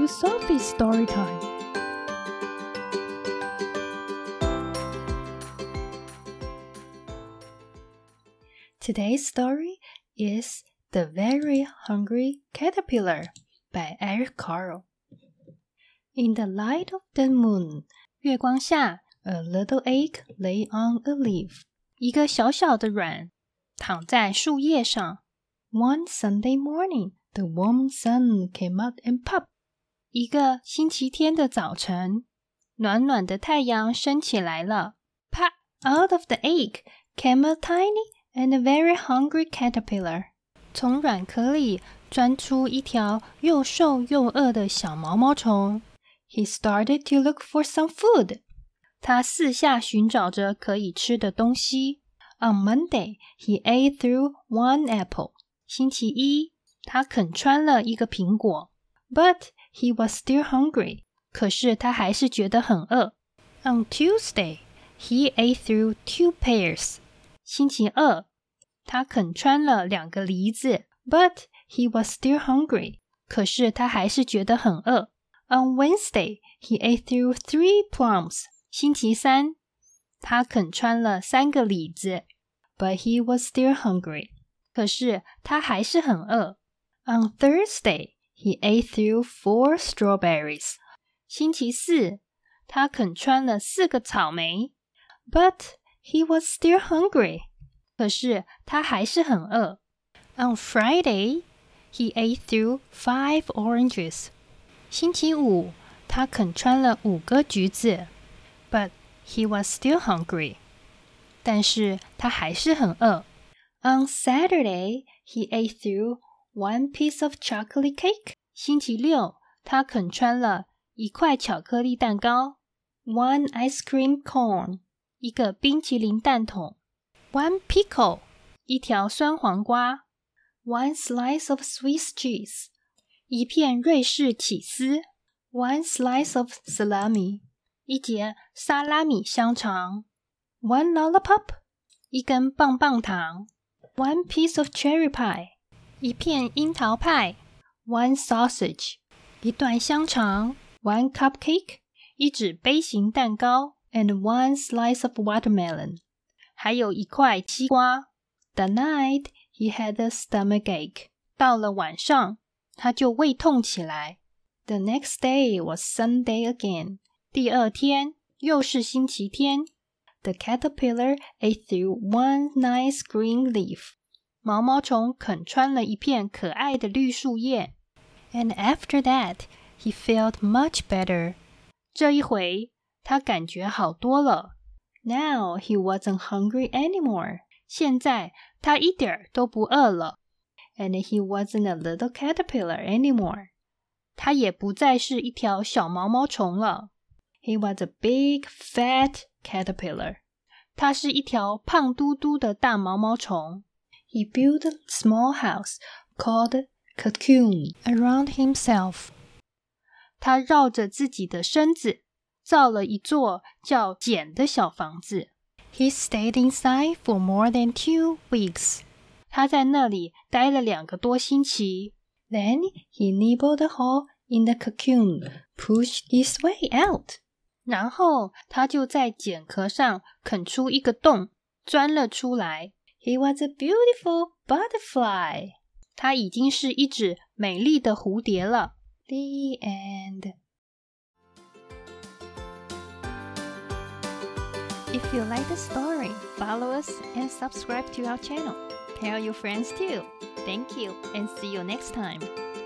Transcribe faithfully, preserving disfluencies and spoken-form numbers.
to Sophie's story time. Today's story is The Very Hungry Caterpillar by Eric Carle. In the light of the moon, 月光下 a little egg lay on a leaf. 一个小小的卵躺在树叶上。One Sunday morning, the warm sun came out and popped. 一个星期天的早晨，暖暖的太阳升起来了。Pop! Out of the egg came a tiny and a very hungry caterpillar. 从卵壳里钻出一条又瘦又饿的小毛毛虫。He started to look for some food. 他四下寻找着可以吃的东西。On Monday, he ate through one apple. 星期一，他啃穿了一个苹果。But he was still hungry. 可是他还是觉得很饿。On Tuesday, he ate through two pears. 星期二，他啃穿了两个梨子。But he was still hungry. 可是他还是觉得很饿。On Wednesday, he ate through three plums. 星期三，他啃穿了三个李子。But he was still hungry. 可是他还是很饿。On Thursday, he ate through four strawberries. 星期四，他啃穿了四个草莓。But he was still hungry. 可是他还是很饿。On Friday, he ate through five oranges. 星期五，他啃穿了五个橘子。But he was still hungry. 但是他还是很饿。On Saturday, he ate through one piece of chocolate cake. 星期六，他啃穿了一块巧克力蛋糕。One ice cream cone. 一个冰淇淋蛋筒。One pickle. 一条酸黄瓜。One slice of Swiss cheese. 一片瑞士起司。One slice of salami. 一节沙拉米香肠。One lollipop. 一根棒棒糖。One piece of cherry pie. 一片樱桃派。One sausage. 一段香肠。One cupcake. 一纸杯形蛋糕。And one slice of watermelon. 还有一块西瓜。The night, he had a stomachache. 到了晚上，他就胃痛起来。The next day was Sunday again. 第二天又是星期天。The caterpillar ate through one nice green leaf. 毛毛虫啃穿了一片可爱的绿树叶。And after that, he felt much better. 这一回，他感觉好多了。Now he wasn't hungry anymore. 现在他一点儿都不饿了。And he wasn't a little caterpillar anymore. 他也不再是一条小毛毛虫了。He was a big, fat caterpillar. 他是一条胖嘟嘟的大毛毛虫。He built a small house called a cocoon around himself. 他绕着自己的身子造了一座叫茧的小房子。He stayed inside for more than two weeks. 他在那里待了两个多星期。Then he nibbled a hole in the cocoon, pushed his way out. 然后他就在茧壳上啃出一个洞，钻了出来。He was a beautiful butterfly. 他已经是一只美丽的蝴蝶了。The end. If you like the story, follow us and subscribe to our channel. Tell your friends too. Thank you and see you next time.